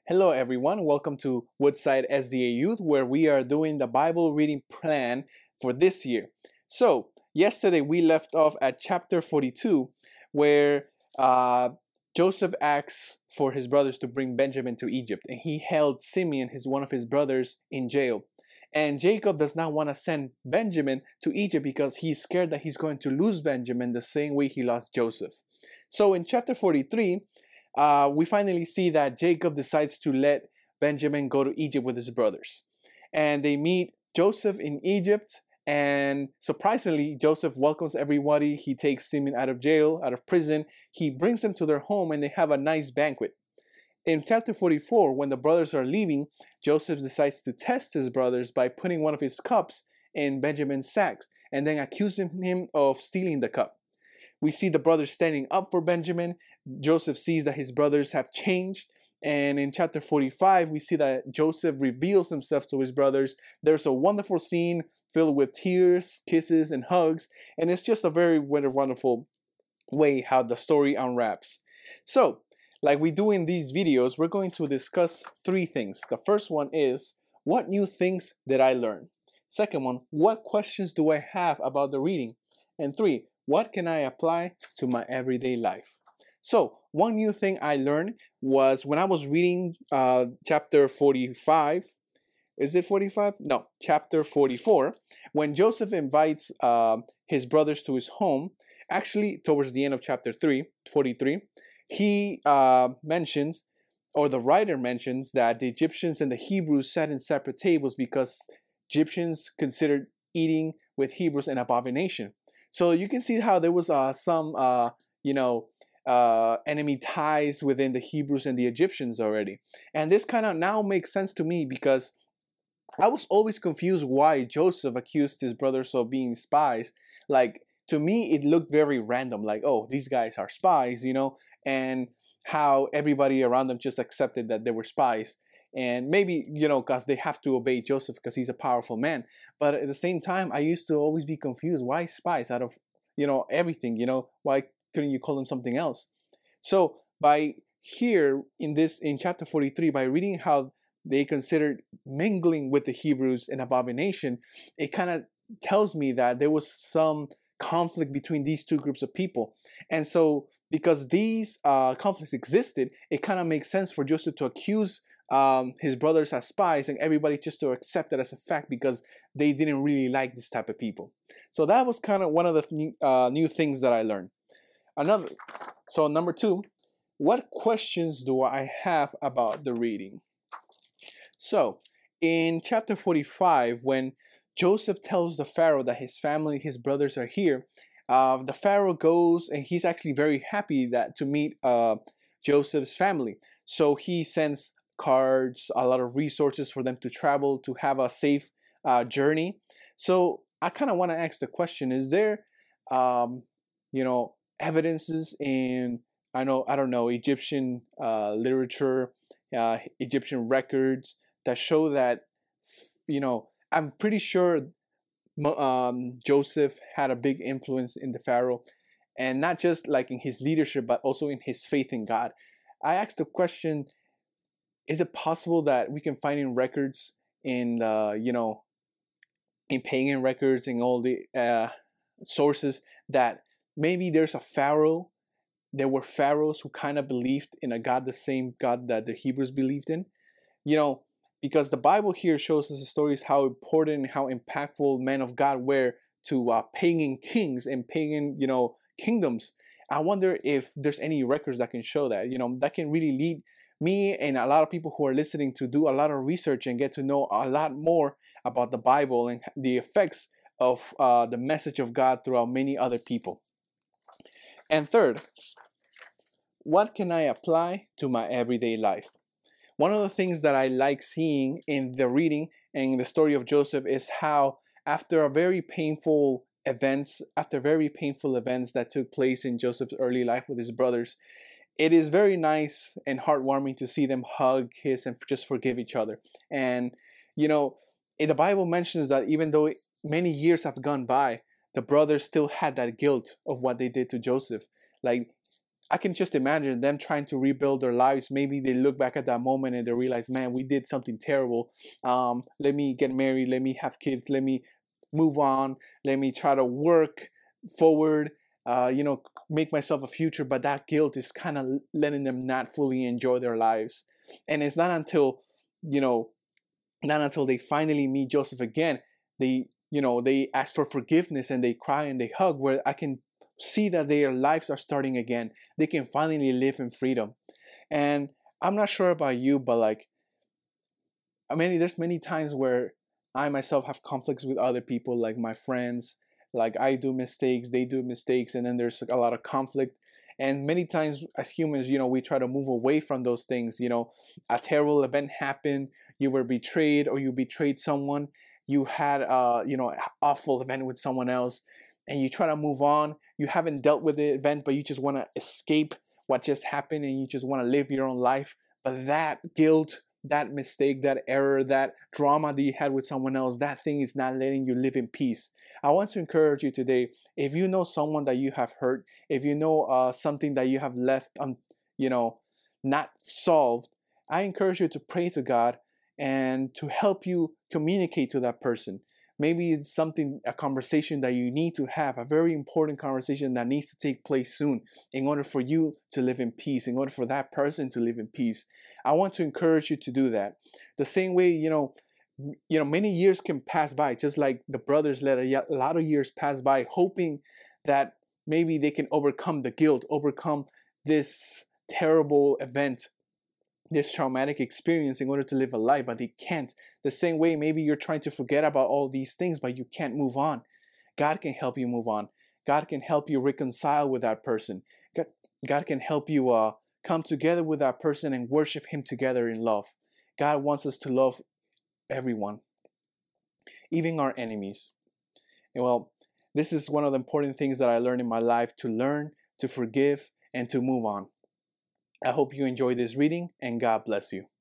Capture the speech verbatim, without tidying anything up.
Hello, everyone. Welcome to Woodside S D A Youth, where we are doing the Bible reading plan for this year. So, yesterday we left off at chapter forty-two, where uh, Joseph asks for his brothers to bring Benjamin to Egypt, and he held Simeon, his one of his brothers, in jail. And Jacob does not want to send Benjamin to Egypt because he's scared that he's going to lose Benjamin the same way he lost Joseph. So, in chapter forty-three, uh, we finally see that Jacob decides to let Benjamin go to Egypt with his brothers. And they meet Joseph in Egypt. And surprisingly, Joseph welcomes everybody. He takes Simeon out of jail, out of prison. He brings them to their home and they have a nice banquet. In chapter forty-four, when the brothers are leaving, Joseph decides to test his brothers by putting one of his cups in Benjamin's sacks and then accusing him of stealing the cup. We see the brothers standing up for Benjamin. Joseph sees that his brothers have changed. And in chapter forty-five, we see that Joseph reveals himself to his brothers. There's a wonderful scene filled with tears, kisses, and hugs. And it's just a very wonderful way how the story unwraps. So, like we do in these videos, we're going to discuss three things. The first one is, what new things did I learn? Second one, what questions do I have about the reading? And three, what can I apply to my everyday life? So, one new thing I learned was when I was reading uh, chapter forty-five. Is it forty-five? No, chapter forty-four. When Joseph invites uh, his brothers to his home, actually towards the end of chapter three, forty-three, he uh, mentions, or the writer mentions, that the Egyptians and the Hebrews sat in separate tables because Egyptians considered eating with Hebrews an abomination. So you can see how there was uh, some, uh, you know, uh, enemy ties within the Hebrews and the Egyptians already. And this kind of now makes sense to me because I was always confused why Joseph accused his brothers of being spies. Like, to me, it looked very random. Like, oh, these guys are spies, you know, and how everybody around them just accepted that they were spies. And maybe, you know, because they have to obey Joseph because he's a powerful man. But at the same time, I used to always be confused. Why spies out of, you know, everything, you know? Why couldn't you call them something else? So by here in this, in chapter forty-three, by reading how they considered mingling with the Hebrews an abomination, it kind of tells me that there was some conflict between these two groups of people. And so because these uh, conflicts existed, it kind of makes sense for Joseph to accuse Um, his brothers as spies and everybody just to accept it as a fact because they didn't really like this type of people. So that was kind of one of the new, uh, new things that I learned. Another, so number two, what questions do I have about the reading? So in chapter forty-five, when Joseph tells the Pharaoh that his family, his brothers are here, uh, the Pharaoh goes and he's actually very happy that to meet uh, Joseph's family. So he sends cards, a lot of resources for them to travel, to have a safe uh, journey. So I kind of want to ask the question, is there, um, you know, evidences in, I know, I don't know, Egyptian uh, literature, uh, Egyptian records that show that, you know, I'm pretty sure um, Joseph had a big influence in the Pharaoh, and not just like in his leadership, but also in his faith in God. I asked the question, is it possible that we can find in records in uh, you know, in pagan records and all the uh, sources that maybe there's a pharaoh, there were pharaohs who kind of believed in a God, the same God that the Hebrews believed in? You know, because the Bible here shows us the stories how important and how impactful men of God were to uh, pagan kings and pagan, you know, kingdoms. I wonder if there's any records that can show that, you know, that can really lead me and a lot of people who are listening to do a lot of research and get to know a lot more about the Bible and the effects of uh, the message of God throughout many other people. And third, what can I apply to my everyday life? One of the things that I like seeing in the reading and the story of Joseph is how after a very painful events, after very painful events that took place in Joseph's early life with his brothers, it is very nice and heartwarming to see them hug, kiss, and just forgive each other. And, you know, the Bible mentions that even though many years have gone by, the brothers still had that guilt of what they did to Joseph. Like, I can just imagine them trying to rebuild their lives. Maybe they look back at that moment and they realize, man, we did something terrible. Um, let me get married. Let me have kids. Let me move on. Let me try to work forward, uh, you know, make myself a future. But that guilt is kind of letting them not fully enjoy their lives. And it's not until, you know, not until they finally meet Joseph again, they, you know, they ask for forgiveness and they cry and they hug, where I can see that their lives are starting again. They can finally live in freedom. And I'm not sure about you, but like, I mean, there's many times where I myself have conflicts with other people, like my friends. Like I do mistakes, they do mistakes, and then there's a lot of conflict. And many times as humans, you know, we try to move away from those things. You know, a terrible event happened, you were betrayed, or you betrayed someone, you had a, you know, an awful event with someone else, and you try to move on. You haven't dealt with the event, but you just want to escape what just happened and you just want to live your own life. But that guilt, that mistake, that error, that drama that you had with someone else, that thing is not letting you live in peace. I want to encourage you today, if you know someone that you have hurt, if you know uh, something that you have left, um, you know, not solved, I encourage you to pray to God and to help you communicate to that person. Maybe it's something, a conversation that you need to have, a very important conversation that needs to take place soon in order for you to live in peace, in order for that person to live in peace. I want to encourage you to do that. The same way, you know, you know, many years can pass by, just like the brothers let a lot of years pass by, hoping that maybe they can overcome the guilt, overcome this terrible event, this traumatic experience in order to live a life, but they can't. The same way, maybe you're trying to forget about all these things, but you can't move on. God can help you move on. God can help you reconcile with that person. God, God can help you uh, come together with that person and worship Him together in love. God wants us to love everyone, even our enemies. And well, this is one of the important things that I learned in my life, to learn, to forgive, and to move on. I hope you enjoyed this reading, and God bless you.